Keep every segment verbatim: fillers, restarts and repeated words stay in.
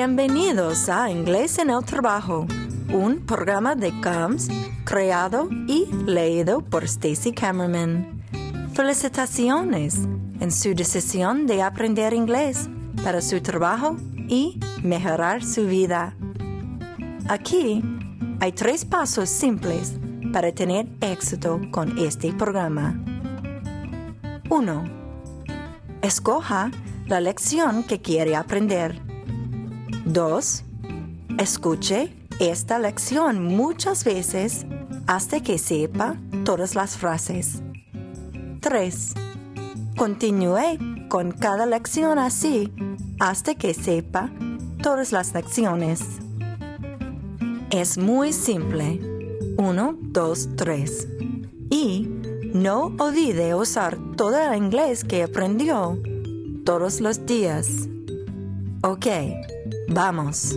Bienvenidos a Inglés en el Trabajo, un programa de C A M S creado y leído por Stacey Camerman. Felicitaciones en su decisión de aprender inglés para su trabajo y mejorar su vida. Aquí hay tres pasos simples para tener éxito con este programa. uno. Escoja la lección que quiere aprender. dos. Escuche esta lección muchas veces hasta que sepa todas las frases. tres. Continúe con cada lección así hasta que sepa todas las lecciones. Es muy simple. uno, dos, tres. Y no olvide usar todo el inglés que aprendió todos los días. Ok, vamos.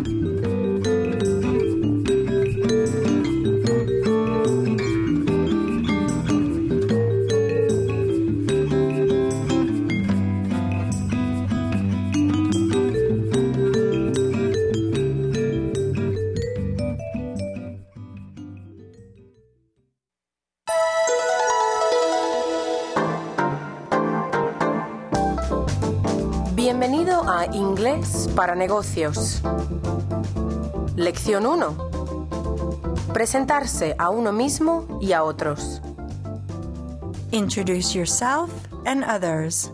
Bienvenido a Inglés para Negocios. Lección uno. Presentarse a uno mismo y a otros. Introduce yourself and others.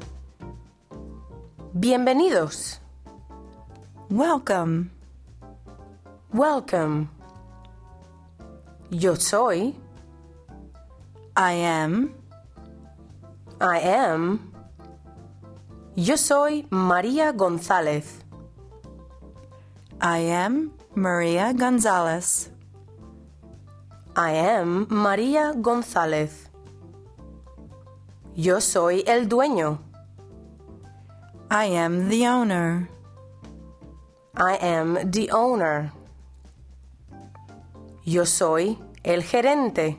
Bienvenidos. Welcome. Welcome. Yo soy. I am. I am. Yo soy María González. I am Maria Gonzalez. I am María González. Yo soy el dueño. I am the owner. I am the owner. Yo soy el gerente.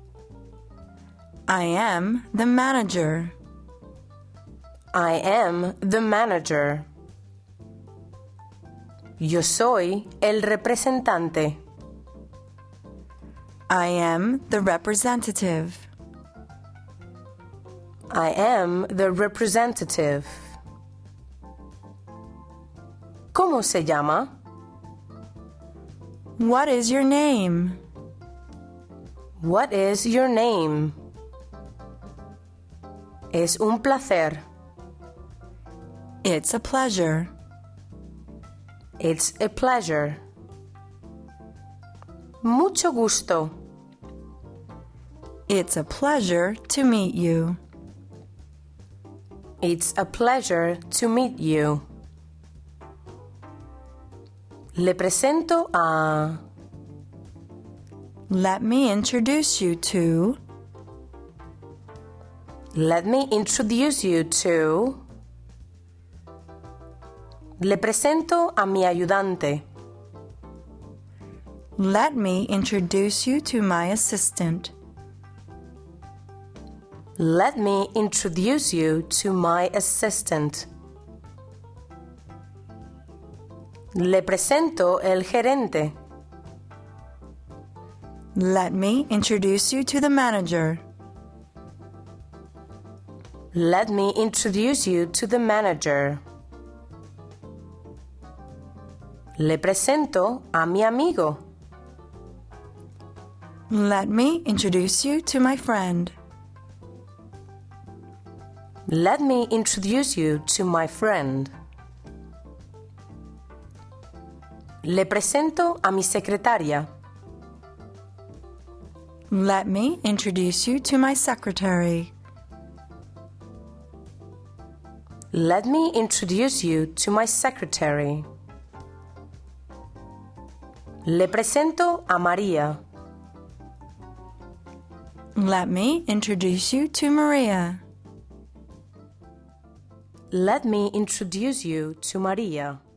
I am the manager. I am the manager. Yo soy el representante. I am the representative. I am the representative. ¿Cómo se llama? What is your name? What is your name? Es un placer. It's a pleasure. It's a pleasure. Mucho gusto. It's a pleasure to meet you. It's a pleasure to meet you. Le presento a... Let me introduce you to... Let me introduce you to... Le presento a mi ayudante. Let me introduce you to my assistant. Let me introduce you to my assistant. Le presento el gerente. Let me introduce you to the manager. Let me introduce you to the manager. Le presento a mi amigo. Let me introduce you to my friend. Let me introduce you to my friend. Le presento a mi secretaria. Let me introduce you to my secretary. Let me introduce you to my secretary. Le presento a María. Let me introduce you to Maria. Let me introduce you to María.